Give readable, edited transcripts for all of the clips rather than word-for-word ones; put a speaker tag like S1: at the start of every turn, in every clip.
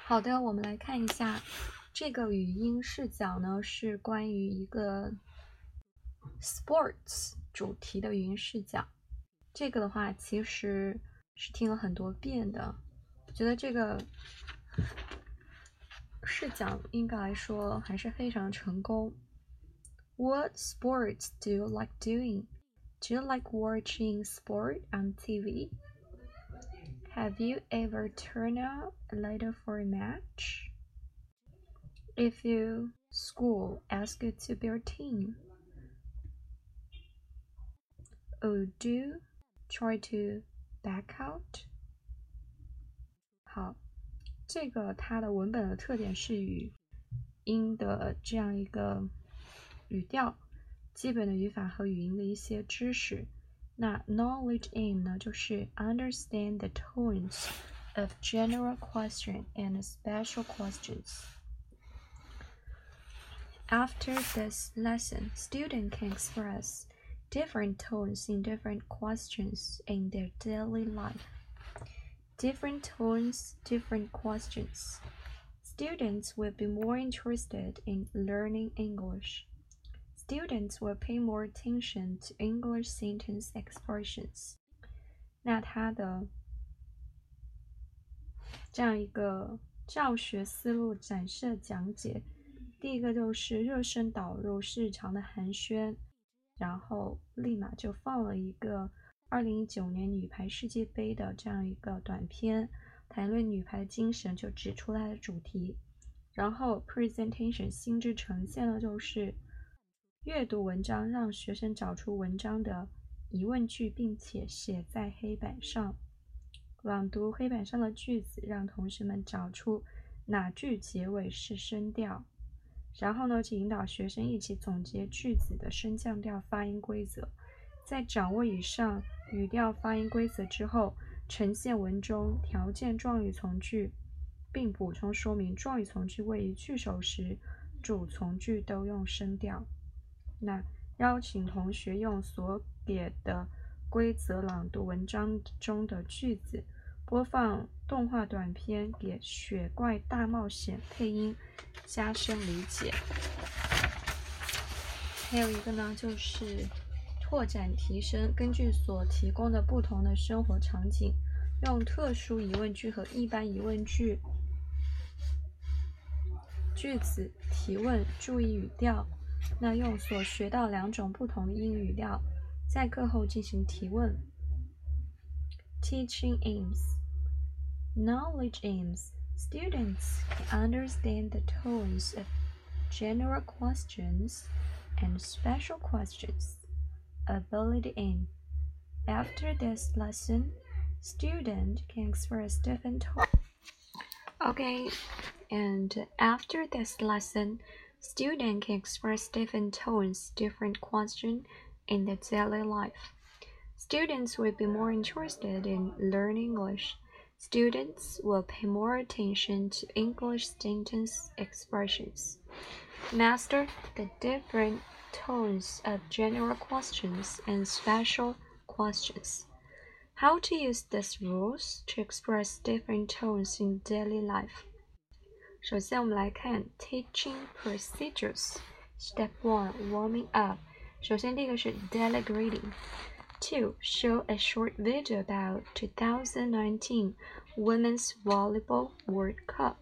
S1: 好的，我们来看一下这个语音视角呢，是关于一个 sports 主题的语音视角。这个的话其实是听了很多遍的，我觉得这个视角应该来说还是非常成功。What sports do you like doing? Do you like watching sport on TV? Have you ever turned out later for a match? If your school asks you to be a team, would you try to back out? 好，这个它的文本的特点是语音的这样一个语调，基本的语法和语音的一些知识。那 knowledge in 呢，就是 understand the tones of general question and special questions. After this lesson, students can express different tones in different questions in their daily life. Different tones, different questions. Students will be more interested in learning English. Students will pay more attention to English sentence expressions. 那它的这样一个教学思路展示讲解，第一个就是热身导入日常的寒暄，然后立马就放了一个2019年女排世界杯的这样一个短片，谈论女排精神，就指出它的主题。然后 presentation 心智呈现了就是阅读文章，让学生找出文章的疑问句，并且写在黑板上。朗读黑板上的句子，让同学们找出哪句结尾是声调。然后呢，就引导学生一起总结句子的升降调发音规则。在掌握以上语调发音规则之后，呈现文中条件状语从句，并补充说明状语从句位于句首时，主从句都用声调。那邀请同学用所给的规则朗读文章中的句子，播放动画短片给《雪怪大冒险》配音，加深理解。还有一个呢，就是拓展提升，根据所提供的不同的生活场景，用特殊疑问句和一般疑问句句子提问，注意语调。那用所学到2种不同的英语语调，在课后进行提问。Teaching aims. Knowledge aims. Students can understand the tones of general questions and special questions. Ability aim. After this lesson, student can express different tones. Okay, and after this lesson, student can express different tones, different questions in their daily life. Students will be more interested in learning English. Students will pay more attention to English sentence expressions. Master the different tones of general questions and special questions. How to use these rules to express different tones in daily life. 首先我们来看 Teaching Procedures. Step 1. Warming up. 首先第一个是 Daily Greeting. 2. Show a short video about 2019 Women's Volleyball World Cup.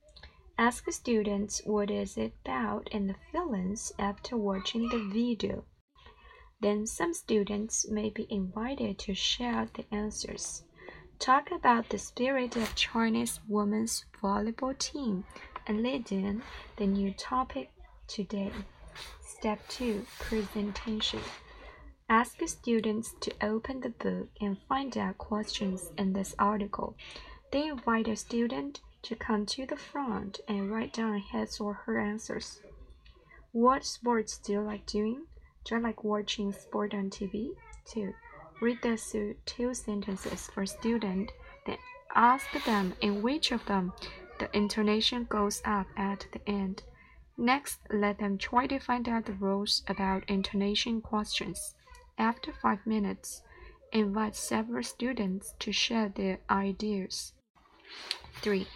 S1: Ask students what is it about and the feelings after watching the video. Then some students may be invited to share the answers. Talk about the spirit of Chinese women's volleyball team and lead in the new topic today. Step 2. Presentation. Ask students to open the book and find out questions in this article. Then invite a student to come to the front and write down his or her answers. What sports do you like doing? Do you like watching sport on TV? 2. Read the two sentences for student, then ask them in which of them the intonation goes up at the end. Next, let them try to find out the rules about intonation questions. After 5 minutes, invite several students to share their ideas. 3.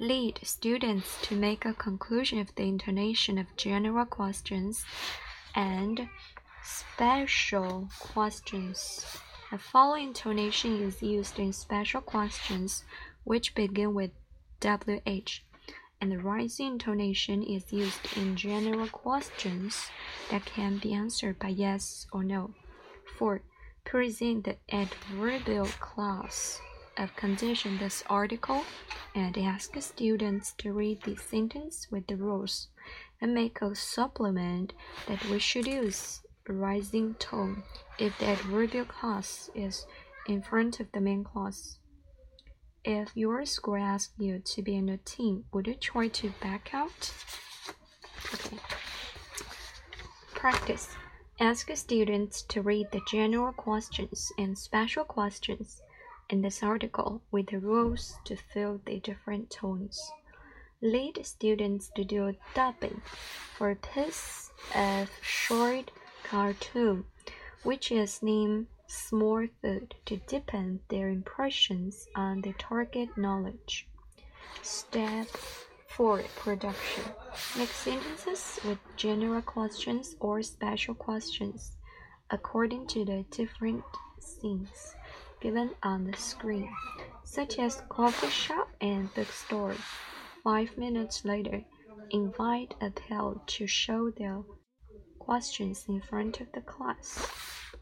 S1: Lead students to make a conclusion of the intonation of general questions and special questions. The following intonation is used in special questions which begin with WH, and the rising intonation is used in general questions that can be answered by yes or no. 4. Present the adverbial clause of condition this article and ask students to read the sentence with the rules and make a supplement that we should use rising tone if the adverbial clause is in front of the main clause. If your school asks you to be in a team, would you try to back out? Okay. Practice. Ask students to read the general questions and special questions in this article with the rules to fill the different tones. Lead students to do dubbing for a piece of short cartoon, which is named Small Food, to deepen their impressions on the target knowledge. Step 4. Production. Make sentences with general questions or special questions according to the different scenes given on the screen, such as coffee shop and bookstore. 5 minutes later, invite a pal to show their questions in front of the class.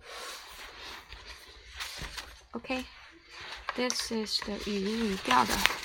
S1: Okay, this is the 语音语调的